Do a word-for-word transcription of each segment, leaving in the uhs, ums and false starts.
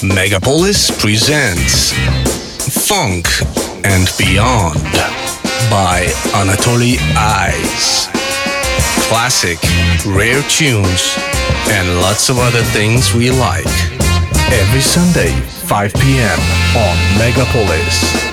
Megapolis presents Funk and Beyond by Anatoly Eyes. Classic, rare tunes, and lots of other things we like. Every Sunday, five p.m. on Megapolis.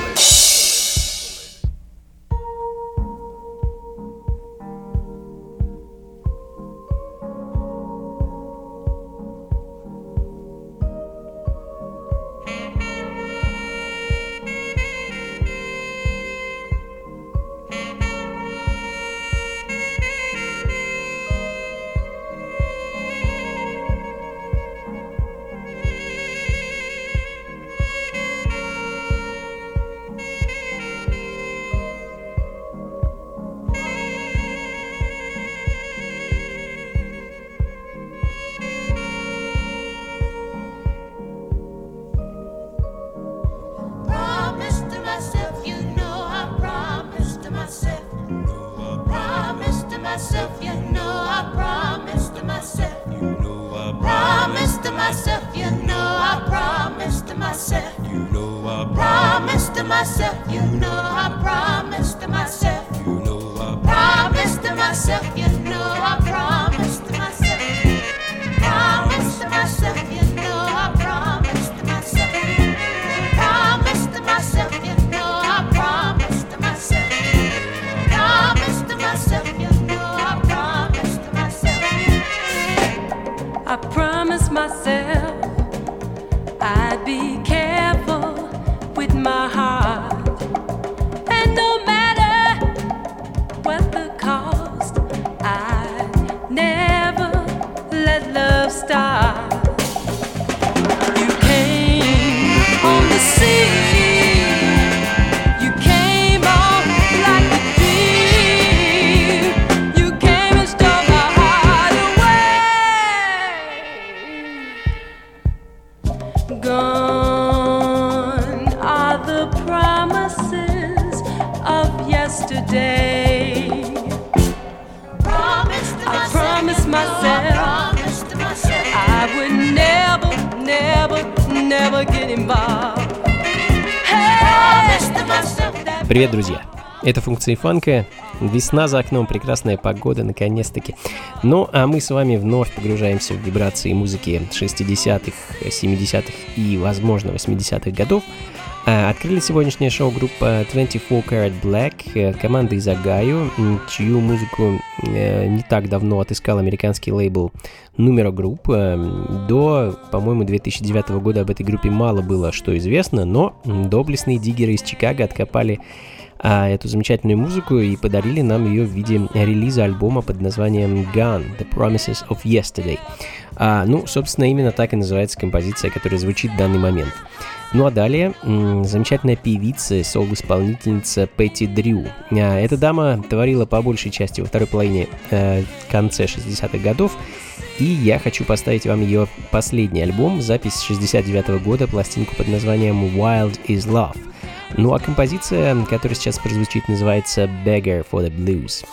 Привет, друзья! Это функции фанка. Весна за окном, прекрасная погода, наконец-таки. Ну, а мы с вами вновь погружаемся в вибрации музыки шестидесятых, семидесятых и, возможно, восьмидесятых годов. Открыли сегодняшнее шоу группа двадцать четыре Karat Black, команда из Огайо, чью музыку не так давно отыскал американский лейбл Numero Group. До, по-моему, две тысячи девятого года об этой группе мало было что известно, но доблестные диггеры из Чикаго откопали а, эту замечательную музыку и подарили нам ее в виде релиза альбома под названием Gone, The Promises of Yesterday. А, ну, собственно, именно так и называется композиция, которая звучит в данный момент. Ну а далее м- замечательная певица, соло-исполнительница Пэтти Дрю. А, эта дама творила по большей части во второй половине э, конце шестидесятых годов, и я хочу поставить вам ее последний альбом, запись шестьдесят девятого года, пластинку под названием Wild is Love. Ну а композиция, которая сейчас прозвучит, называется Beggar for the Blues.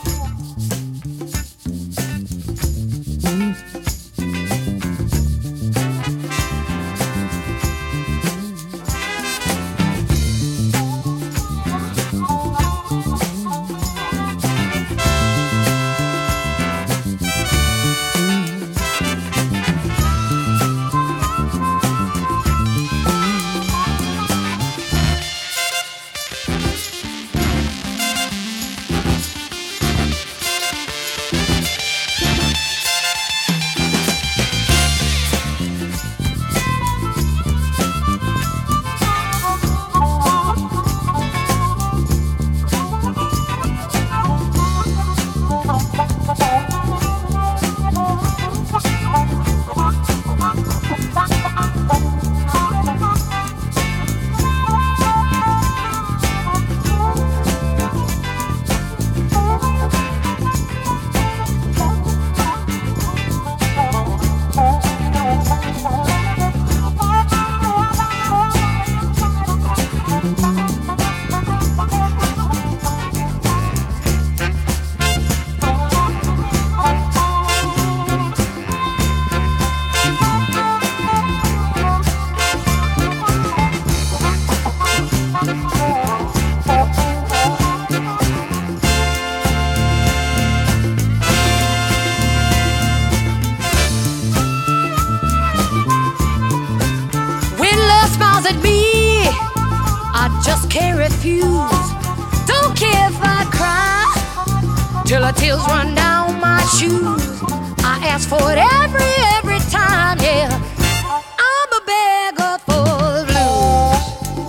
just can't refuse. Don't care if I cry till the tears run down my shoes. I ask for it every, every time, yeah. I'm a beggar for the blues.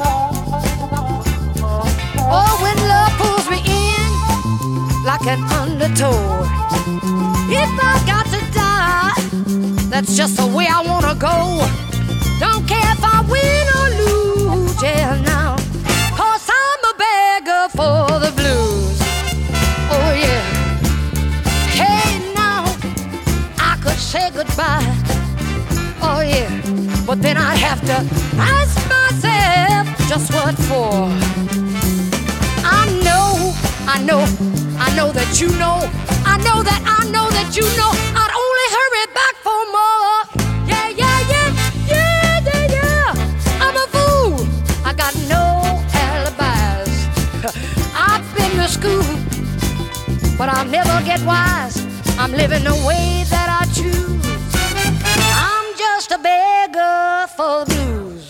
Oh, when love pulls me in like an undertow, if I got to die, that's just the way I wanna go. Don't care if I win or lose, yeah, now, 'cause I'm a beggar for the blues. Oh, yeah. Hey, now, I could say goodbye. Oh, yeah. But then I'd have to ask myself, just what for? I know, I know, I know that you know. I know that, I know that you know. I'd only hurry back for more. Yeah, yeah, yeah, yeah, yeah, yeah. I'm a fool. I got no alibis. I've been to school, but I'll never get wise. I'm living the way that I choose. I'm just a beggar for the blues.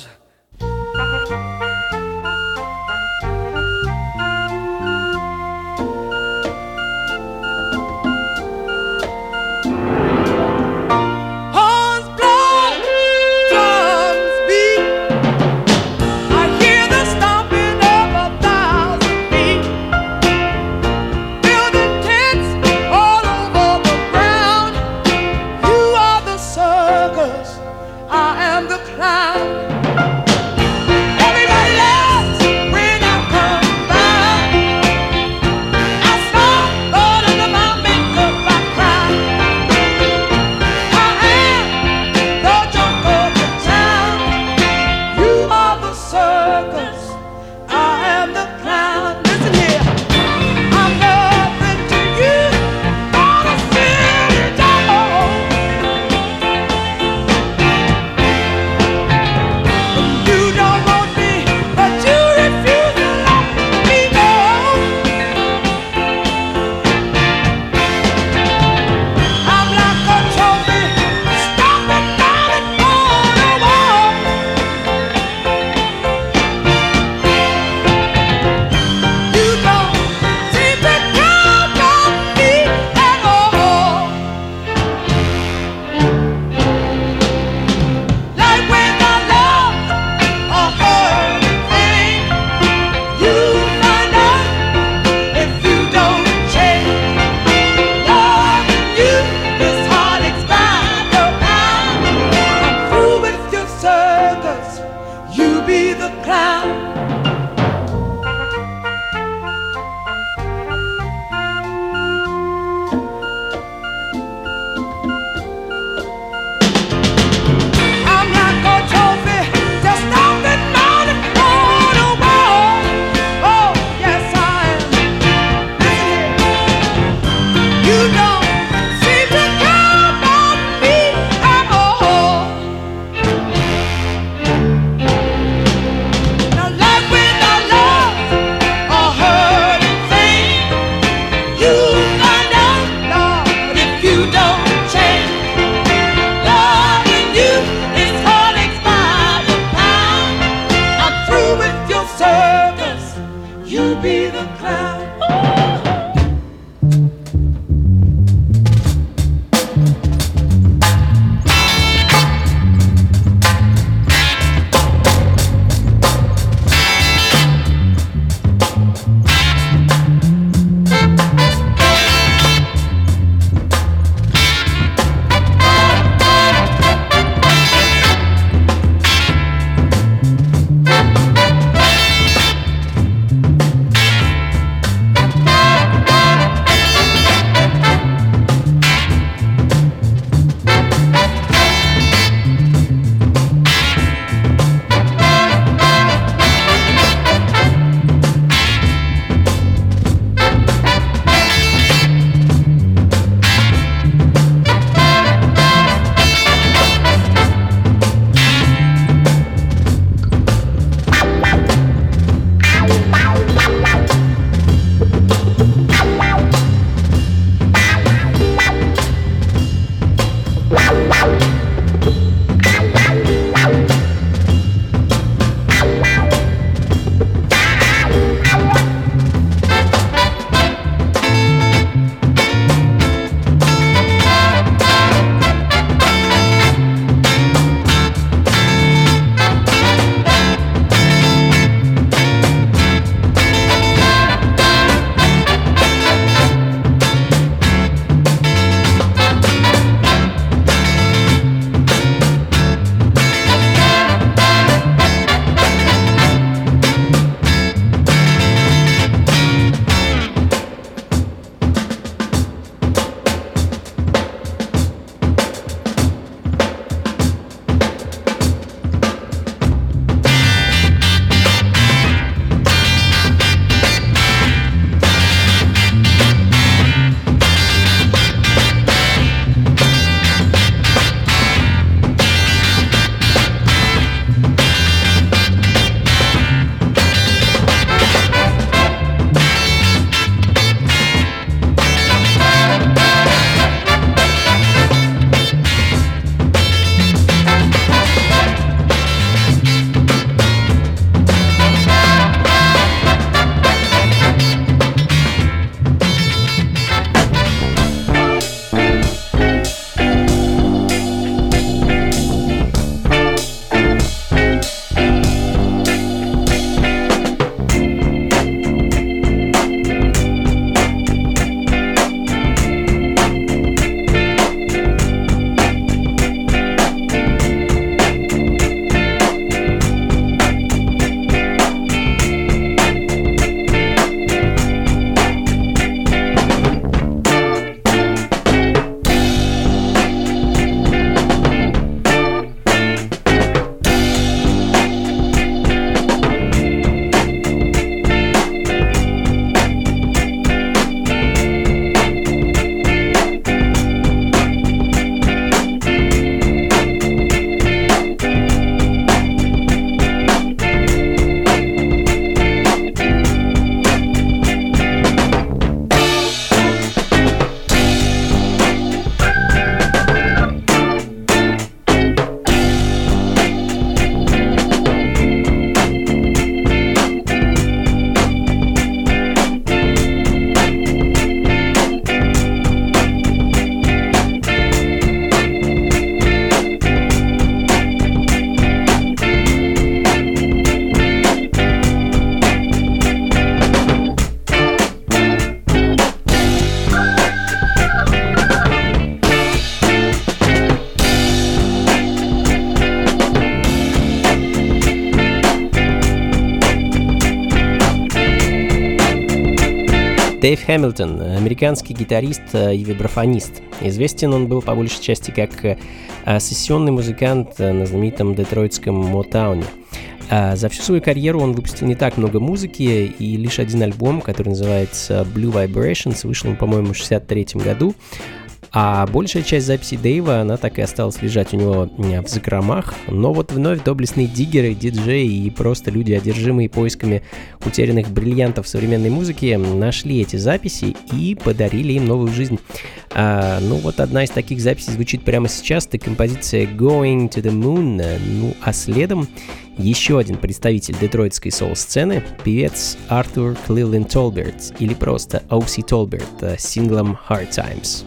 Дэйв Хэмилтон, американский гитарист и вибрафонист. Известен он был по большей части как сессионный музыкант на знаменитом детройтском Мотауне. За всю свою карьеру он выпустил не так много музыки, и лишь один альбом, который называется Blue Vibrations, вышел, по-моему, в шестьдесят третьем году. А большая часть записей Дэйва, она так и осталась лежать у него в закромах. Но вот вновь доблестные диггеры, диджеи и просто люди, одержимые поисками утерянных бриллиантов современной музыки, нашли эти записи и подарили им новую жизнь. А, ну вот одна из таких записей звучит прямо сейчас, это композиция Going to the Moon. Ну а следом еще один представитель детройтской соул-сцены, певец Артур Клилен Толберт, или просто О Си Толберт, с синглом Hard Times.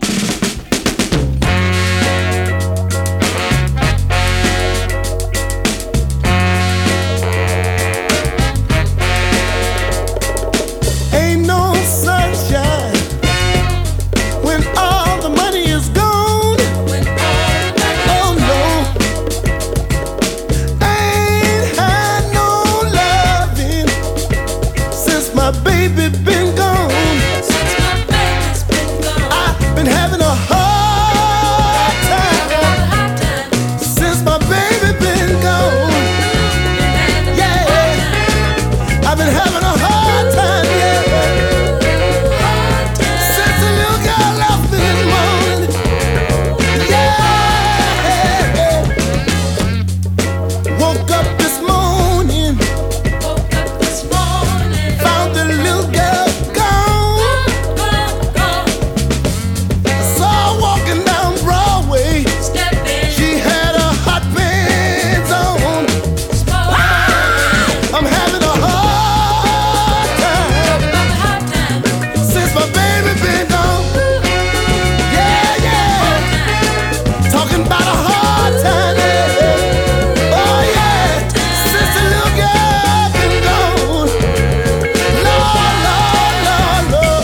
Baby been gone. Since my baby's been gone, I've been having a hard time. Since my baby been gone, yeah, I've been having a hard time, yeah. Since the little girl left me this morning, yeah. Woke up this morning, woke up this morning, found the little girl gone. Saw her walking down Broadway. She had her hot pants on. I'm having a hard time since my baby been gone. Yeah, yeah. Talking about a hard time, yeah. Oh yeah, since the little girl been gone. Lord, Lord, Lord, Lord.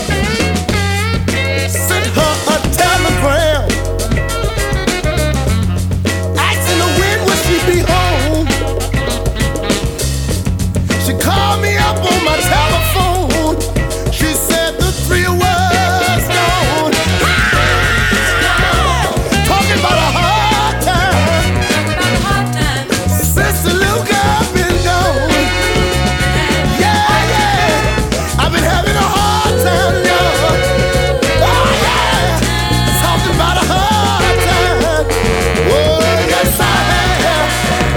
Sent her a telegram asking her when would she be home. She called me up on my telephone. She said the three was gone. Talking about a hard time since the little girl been gone. Yeah, yeah. I've been having a hard time, y'all. Oh, yeah. Talking about a hard time. Oh, yes, I have.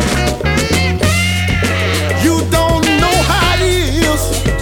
You don't know how it is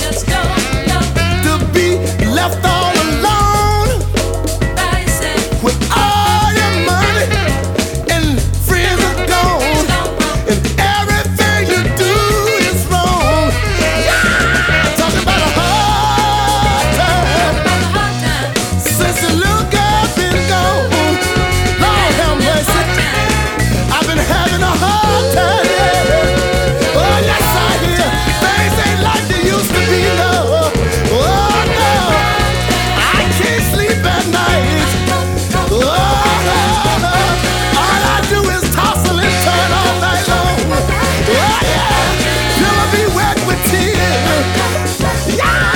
to be left all alone with all your money and friends are gone, and everything you do is wrong. Talking about a hard time since the little girl been gone. Lord have mercy, I've been having a hard time, yeah. Oh yes I hear things ain't like they used to be, no. Oh no, I can't sleep at night. Oh no, no. All I do is tossle and turn all night long. Oh yeah, pillow be wet with tears. Yeah.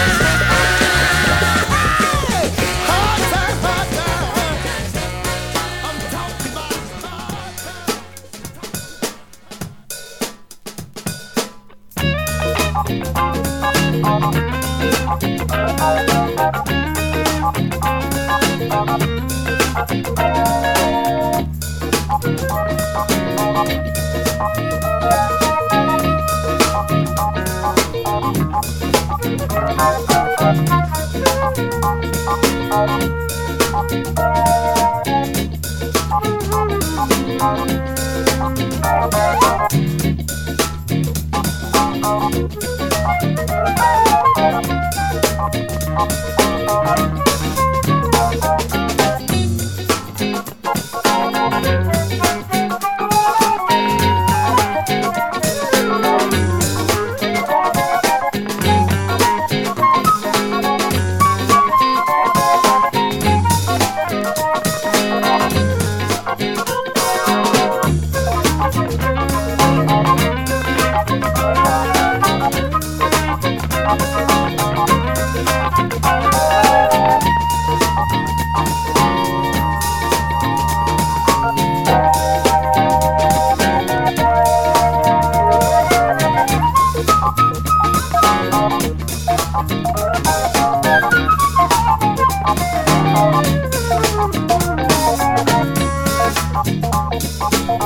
Hard time, hard time. I'm talking about hard time.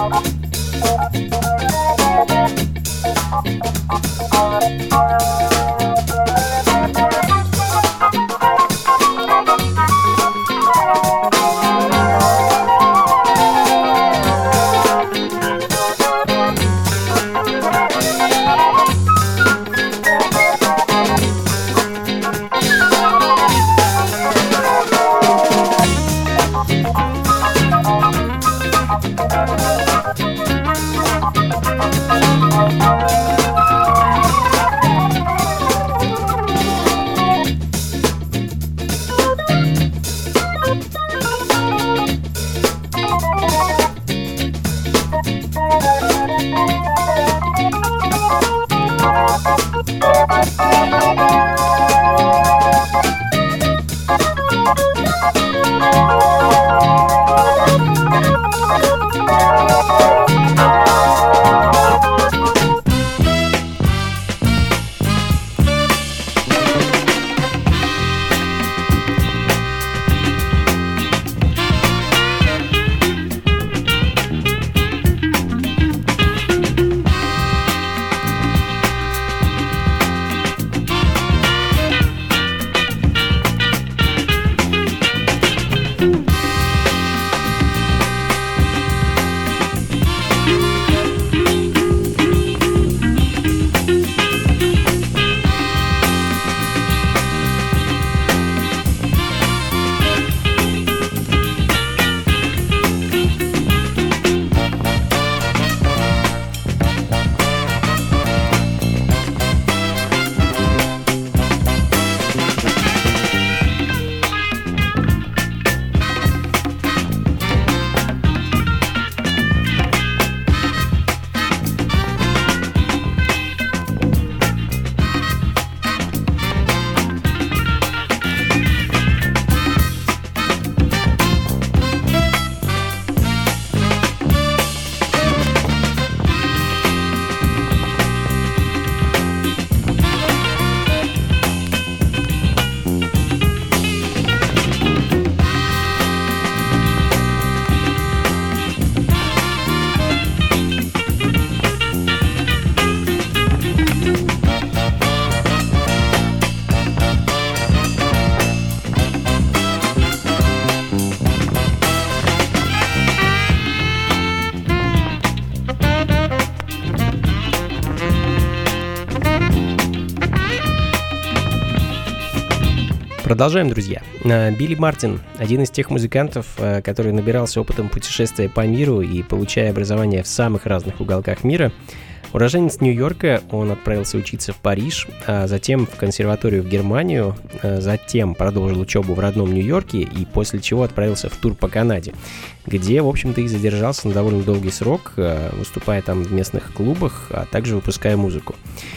Продолжаем, друзья. Билли Мартин – один из тех музыкантов, который набирался опытом путешествия по миру и получая образование в самых разных уголках мира. Уроженец Нью-Йорка, он отправился учиться в Париж, а затем в консерваторию в Германию, затем продолжил учебу в родном Нью-Йорке и после чего отправился в тур по Канаде, где, в общем-то, и задержался на довольно долгий срок, выступая там в местных клубах, а также выпуская музыку.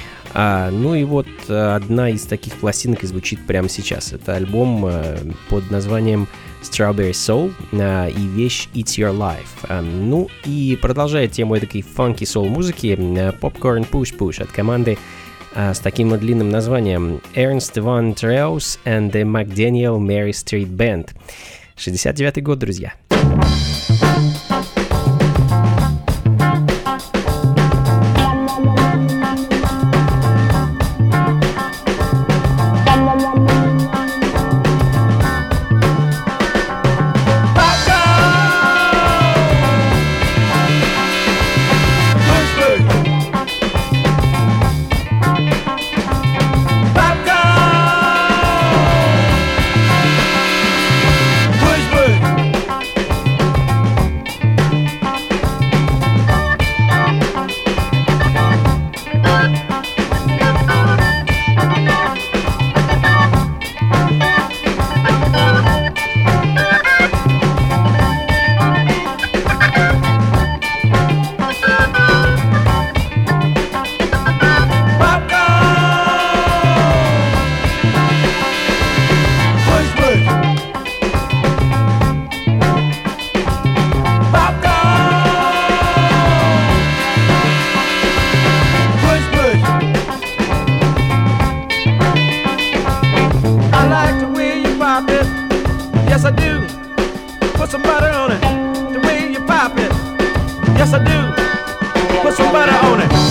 А, ну и вот одна из таких пластинок и звучит прямо сейчас. Это альбом а, под названием Strawberry Soul а, и вещь It's Your Life. А, ну и продолжая тему этой фанки соул музыки, а, Popcorn Push Push от команды а, с таким длинным названием Ernst Von Treuss and the McDaniel Mary Street Band. шестьдесят девятый год, друзья. Yes, I do. Put some butter on it.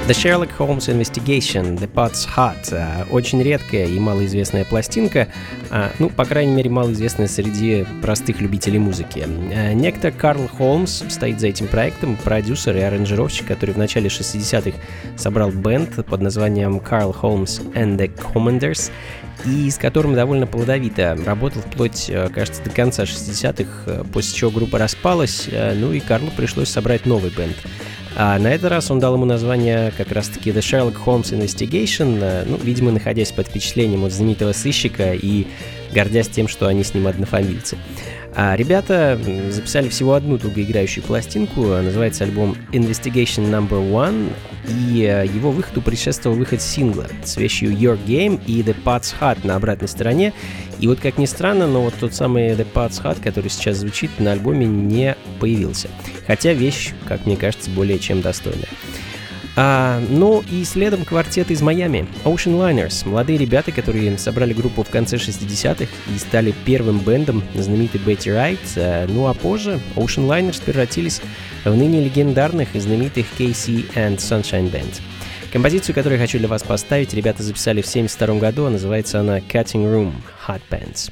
The Sherlock Holmes Investigation, The Pot's Hot. Очень редкая и малоизвестная пластинка, ну, по крайней мере, малоизвестная среди простых любителей музыки. Некто Карл Холмс стоит за этим проектом, продюсер и аранжировщик, который в начале шестидесятых собрал бэнд под названием Carl Holmes and the Commanders, и с которым довольно плодовито работал вплоть, кажется, до конца шестидесятых, после чего группа распалась, ну и Карлу пришлось собрать новый бэнд. А на этот раз он дал ему название как раз-таки The Sherlock Holmes Investigation, ну, видимо, находясь под впечатлением от знаменитого сыщика и гордясь тем, что они с ним однофамильцы. А ребята записали всего одну долгоиграющую пластинку, называется альбом Investigation номер один, и его выходу предшествовал выход сингла с вещью Your Game и The Pot's Hot на обратной стороне. И вот, как ни странно, но вот тот самый The Pot's Hot, который сейчас звучит, на альбоме не появился. Хотя вещь, как мне кажется, более чем достойная. А, ну и следом квартет из Майами, Ocean Liners, молодые ребята, которые собрали группу в конце шестидесятых и стали первым бэндом знаменитой Бетти Райт. А, ну а позже Ocean Liners превратились в ныне легендарных и знаменитых кей си and Sunshine Band. Композицию, которую я хочу для вас поставить, ребята записали в семьдесят втором году, а называется она Cutting Room Hot Pants.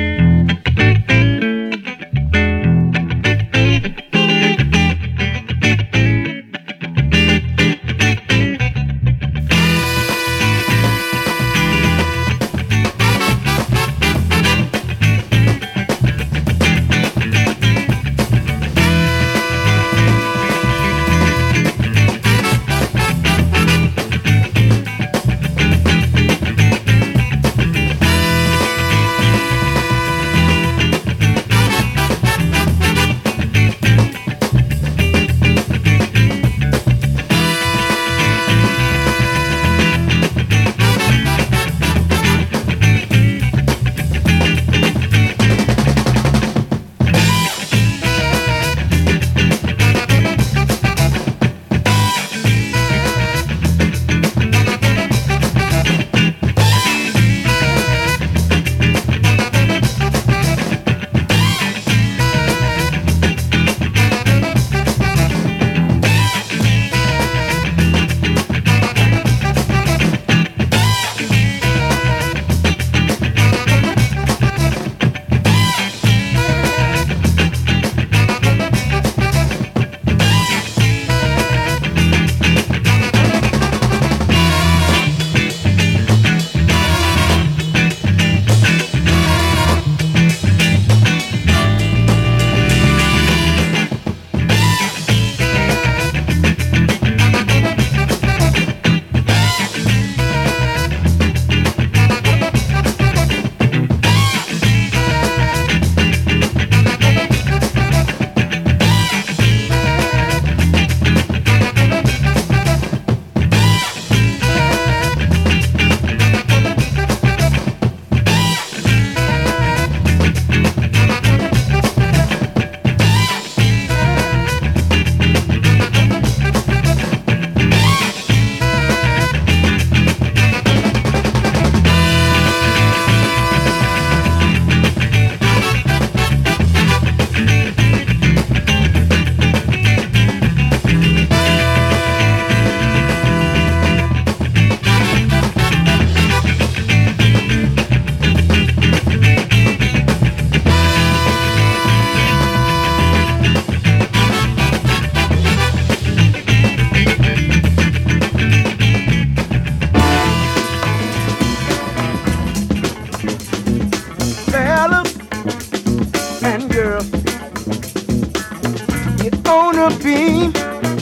beam,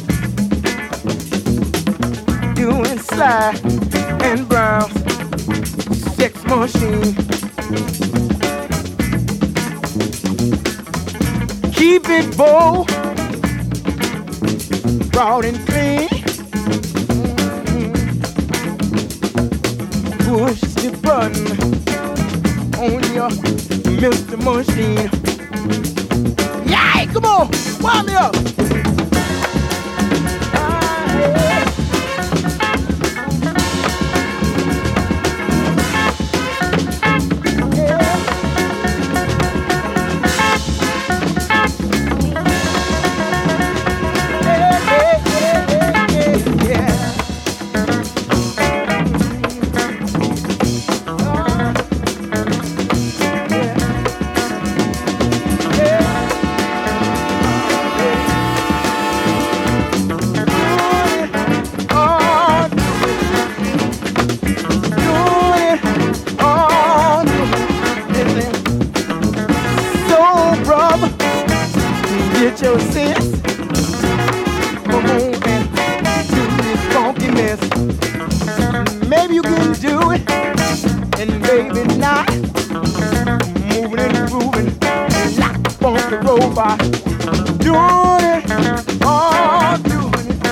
doing slide and brown sex machine. Keep it bold, broad and clean. Push the button on your Mister Machine. Yeah, come on, wind me up. Ah, yeah. by doing it, oh, doing it,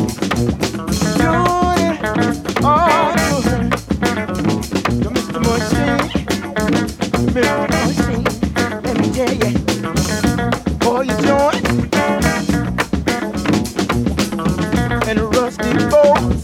doing it, oh, doing it. You're Mister Machine, Mister Machine, let me tell you, boy, you joint and the rusty bolts.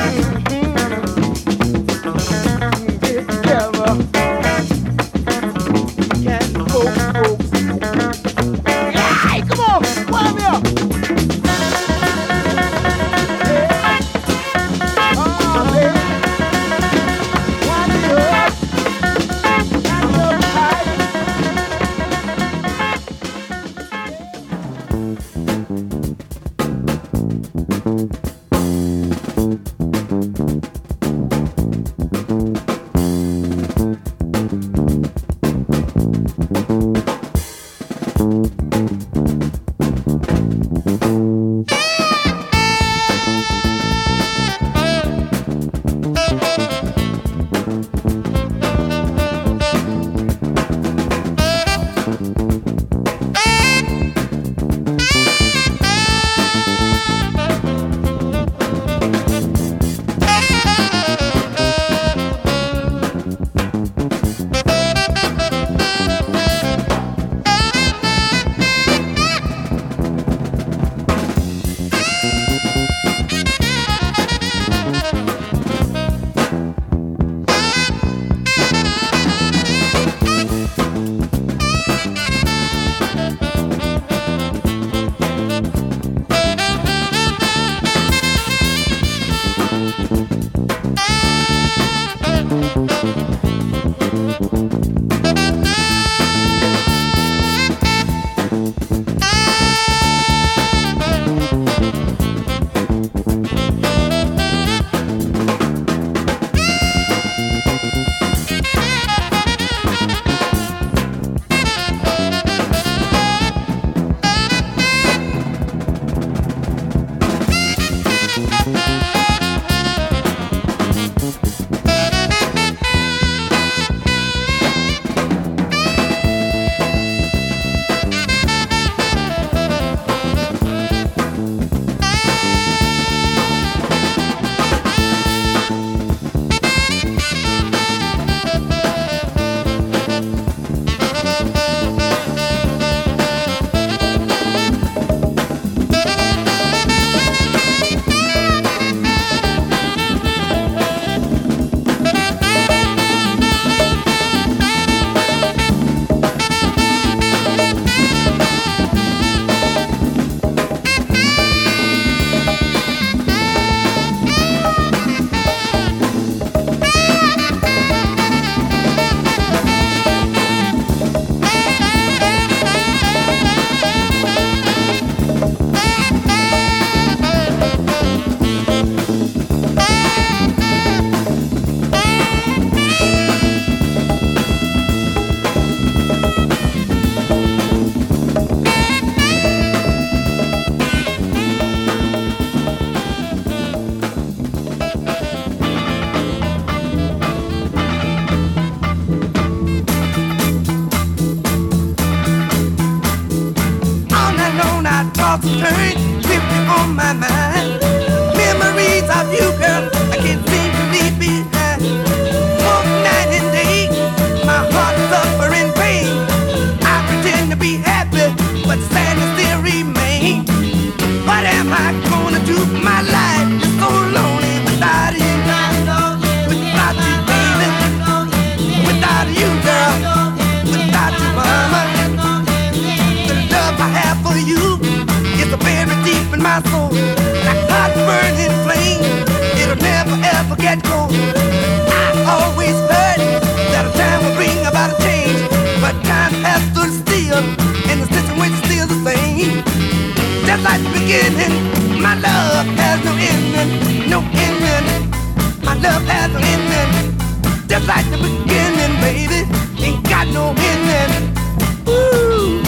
Concentrate, living on my mind. Memories of you, girl, I can't seem to leave behind. Walk night and day, my heart suffering pain. I pretend to be happy, but sadness still remains. What am I gonna do? My life is so lonely without you. Without you, baby. Without you, girl. Without you, mama. The love I have for you is very deep in my soul, like hot burning flame. It'll never ever get cold. I always heard that a time will bring about a change, but time has stood still, and the situation's still the same. Just like the beginning, my love has no ending, no ending. My love has no ending. Just like the beginning, baby, ain't got no ending. Ooh.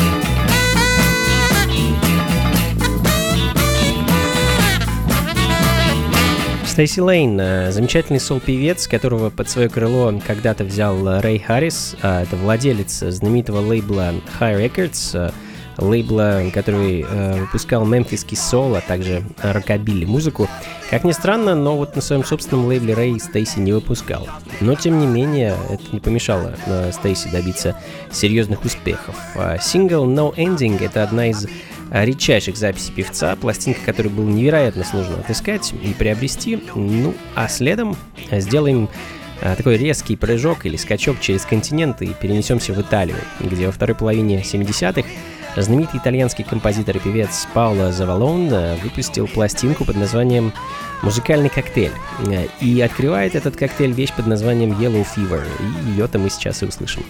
Стейси Лейн, замечательный сол-певец, которого под свое крыло когда-то взял Рэй Харрис. Это владелец знаменитого лейбла High Records. лейбла, который э, выпускал мемфисский соул, а также рокобилли музыку. Как ни странно, но вот на своем собственном лейбле Рэй Стейси не выпускал. Но, тем не менее, это не помешало э, Стейси добиться серьезных успехов. А сингл No Ending — это одна из редчайших записей певца, пластинка, которую было невероятно сложно отыскать и приобрести. Ну, а следом сделаем такой резкий прыжок или скачок через континент и перенесемся в Италию, где во второй половине семидесятых знаменитый итальянский композитор и певец Паоло Завалон выпустил пластинку под названием «Музыкальный коктейль». И открывает этот коктейль вещь под названием Yellow Fever, и ее-то мы сейчас и услышим.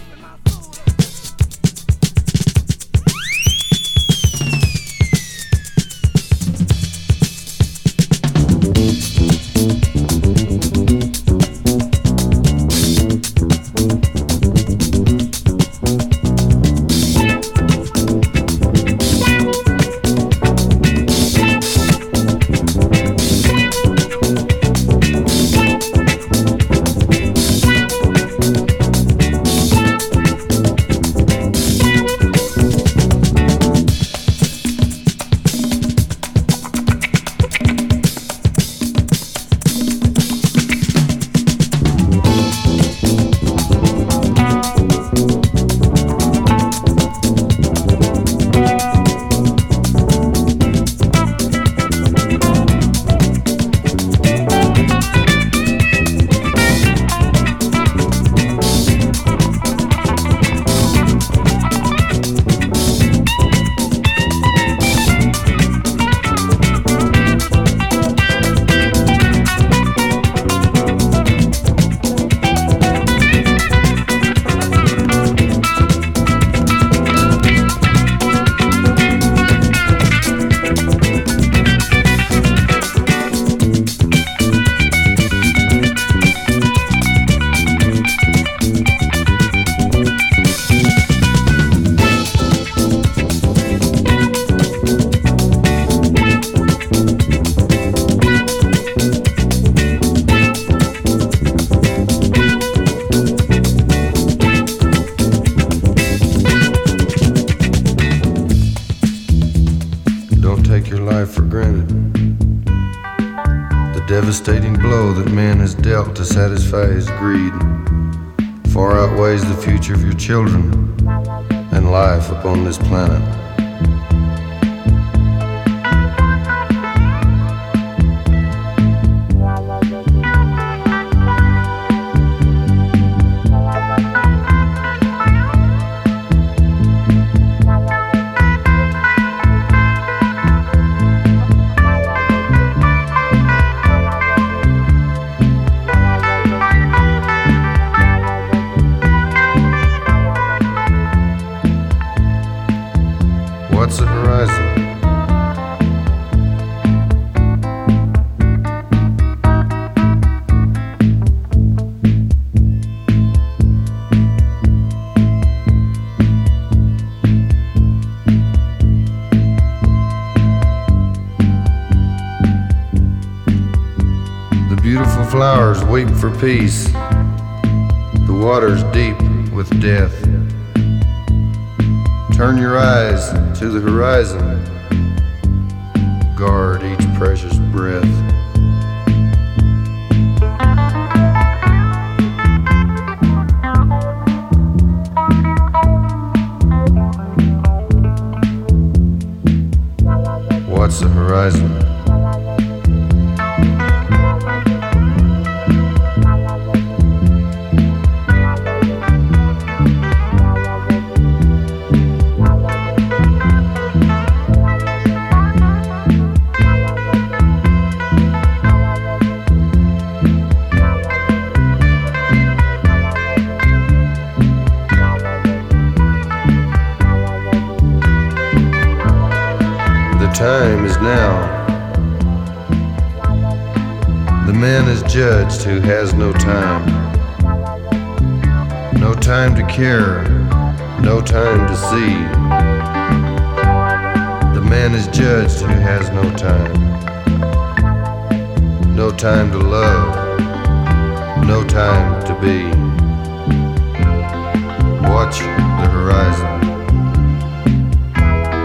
Devastating blow that man has dealt to satisfy his greed far outweighs the future of your children and life upon this planet. What's the horizon? The beautiful flowers weep for peace. The water's deep with death. Turn your eyes to the horizon. Guard each precious breath. What's the horizon? Time is now. The man is judged who has no time. No time to care, no time to see. The man is judged who has no time. No time to love, no time to be. Watch the horizon.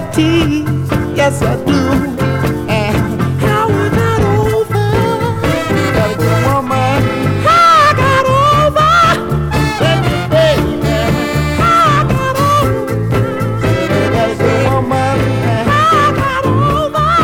tease, yes I do. And how I got over, got a good woman. How I got over, baby, baby. How I got over, got a good woman. How I got over,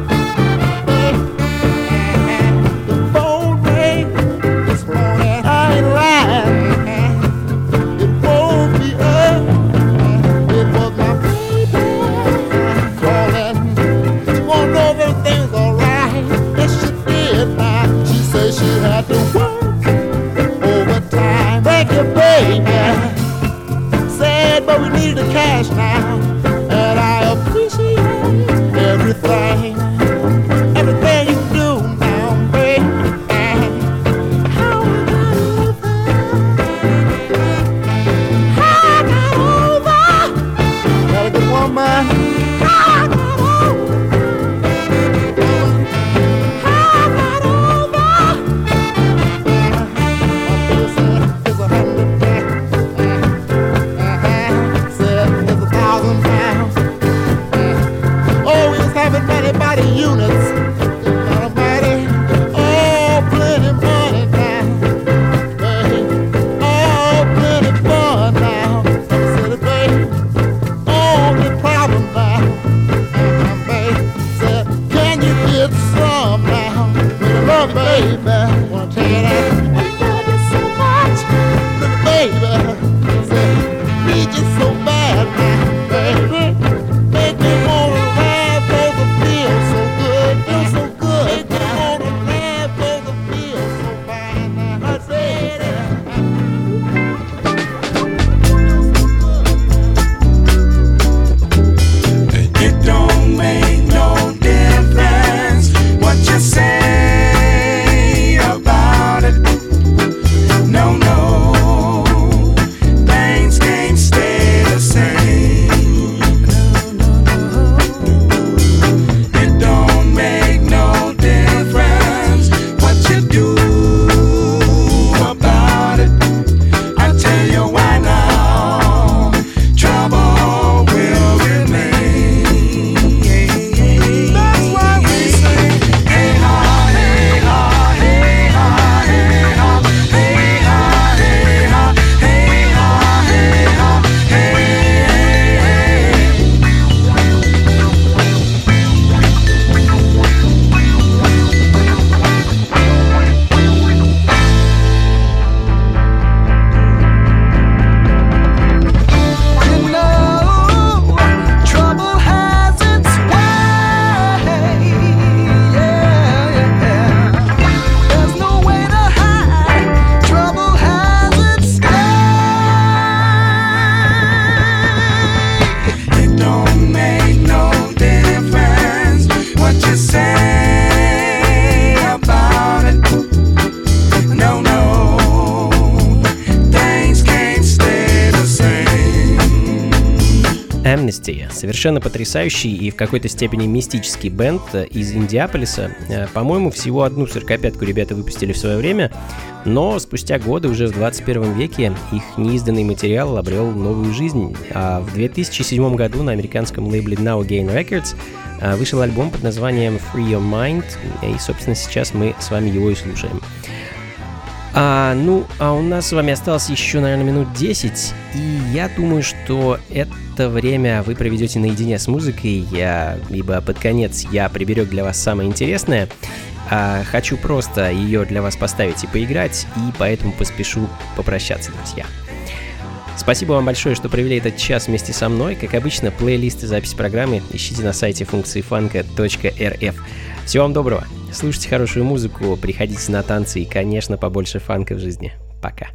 and the phone rang this morning. I ain't lying. It woke me up. It was my baby calling. She wanna know if everything's alright. Yes, she did. Now she said she had to work overtime. Thank you, baby. Said, but we need the cash now, and I appreciate everything, everything you do now, baby. How I got over, how I got over, got a good woman. How I got over, how I got over. It's a hundred pounds, said it's a thousand pounds. Oh, we was having money by the units. Not a money, oh, plenty money now. Babe, oh, plenty fun now. Said it, babe, only problem now. Uh-huh, babe, said, can you get some now? With love, baby, wanna tell you that I love you so much. Little baby, said, need you so bad now, baby. Make me wanna laugh over feel so good, feel so good. Make me wanna laugh over feel so fine now. I said it. It don't make no difference what you say about it. No, no, things can't stay the same. It don't make no difference what you do about it. I tell you why now, trouble will remain. That's why we sing, hey ha, hey ha, hey ha, hey ha, hey ha, hey ha, hey ha, hey ha, hey, hey, You know, trouble has its way. Yeah, yeah. There's no way to hide. Trouble has its way. It don't make no difference what you say about it. No, no, things can't stay the same. Amnesty. Совершенно потрясающий и в какой-то степени мистический бенд из Индиаполиса. Э, По-моему, всего одну сорокопятку ребята выпустили в свое время, но спустя годы, уже в двадцать первом веке, их неизданный материал обрел новую жизнь. А в две тысячи седьмом году на американском лейбле Now Again Records э, вышел альбом под названием Free Your Mind, и, собственно, сейчас мы с вами его и слушаем. А, ну, а у нас с вами осталось еще, наверное, минут десять, и я думаю, что это время вы проведете наедине с музыкой, я, ибо под конец я приберег для вас самое интересное. А, хочу просто ее для вас поставить и поиграть, и поэтому поспешу попрощаться, друзья. Спасибо вам большое, что провели этот час вместе со мной. Как обычно, плейлист и запись программы ищите на сайте функции фанка точка эр эф. Всего вам доброго. Слушайте хорошую музыку, приходите на танцы и, конечно, побольше фанка в жизни. Пока.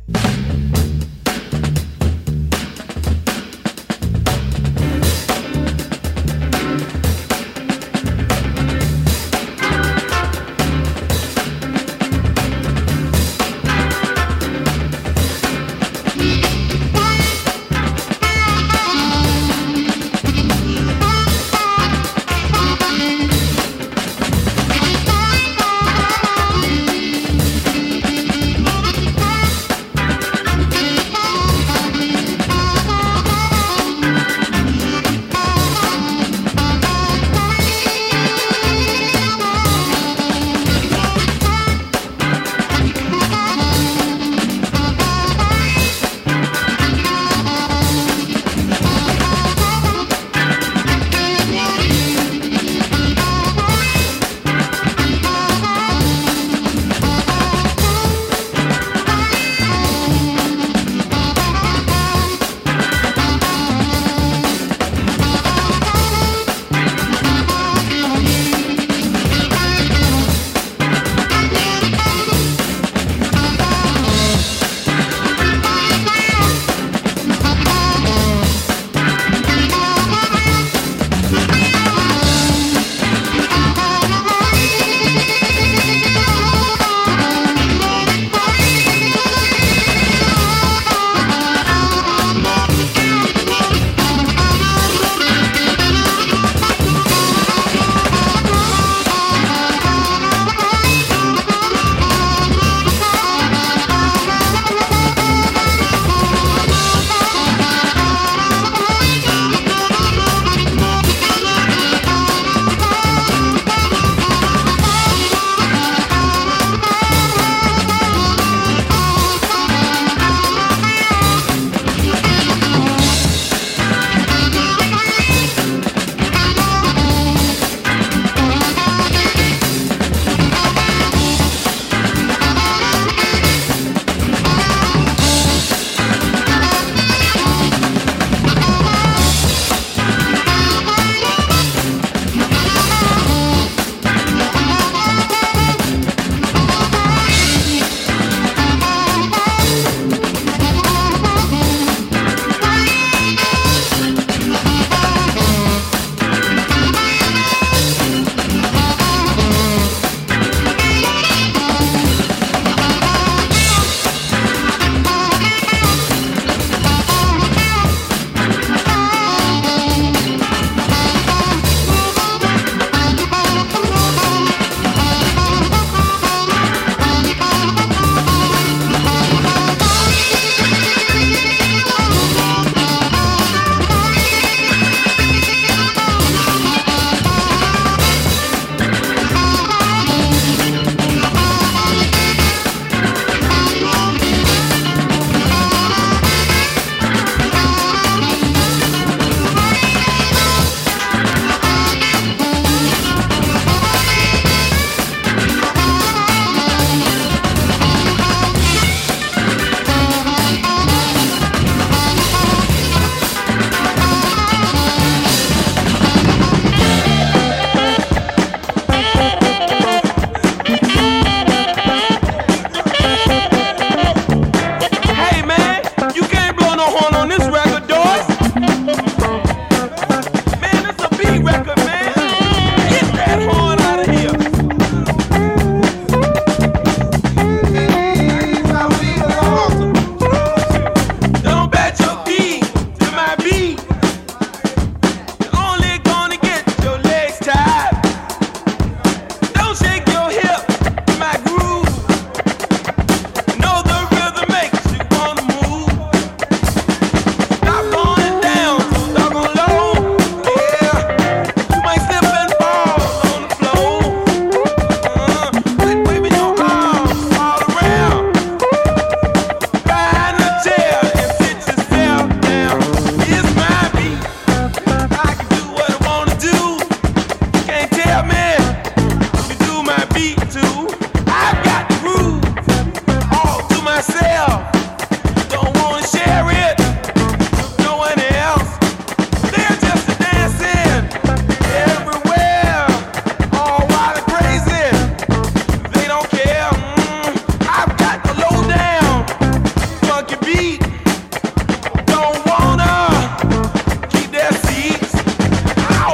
beat to. I've got the groove all to myself. Don't wanna share it with no one else. They're just dancing everywhere, all wild and crazy. They don't care. Mm, I've got the low down funky beat. Don't wanna keep their seats. Ow!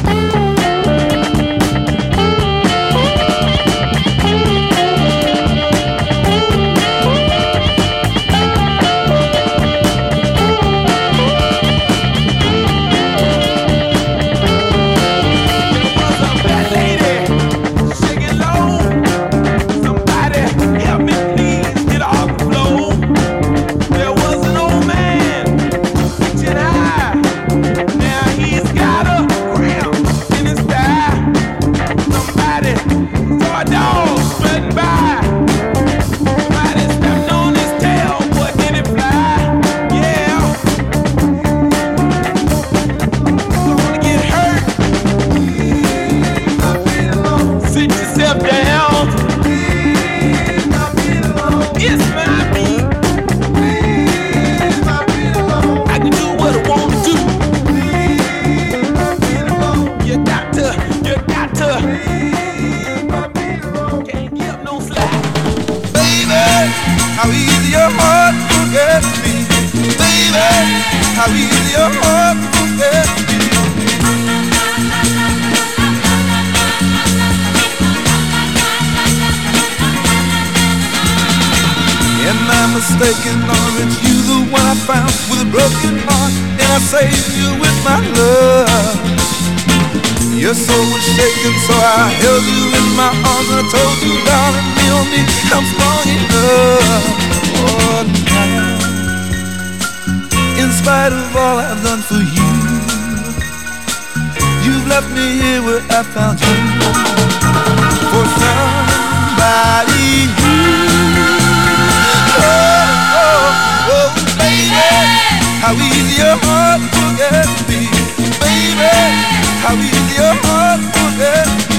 How easy your heart forgets me, baby. How easy your heart forgets me. Am I mistaken, or is you the one I found with a broken heart, and I saved you with my love? Your soul was shaken, so I held you in my arms and I told you, darling, lean on me, I'm strong enough. Oh, now, in spite of all I've done for you, you've left me here where I found you for somebody new. Oh, oh, oh, baby, how easy your heart forgets me, baby. How easy your heart forgets me.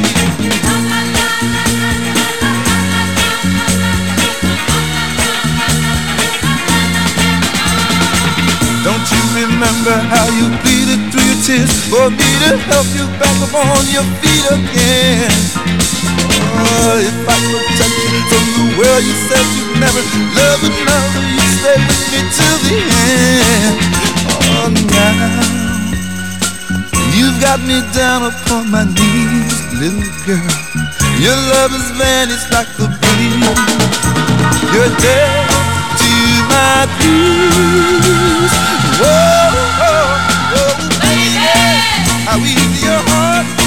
Don't you remember how you pleaded through your tears for me to help you back up on your feet again? Oh, if I protect you from the world you said you'd never love another, you stay with me till the end. Oh, now you've got me down upon my knees, little girl. Your love has vanished like the breeze. You're dead to my blues. Whoa, whoa, whoa, baby, how easy your heart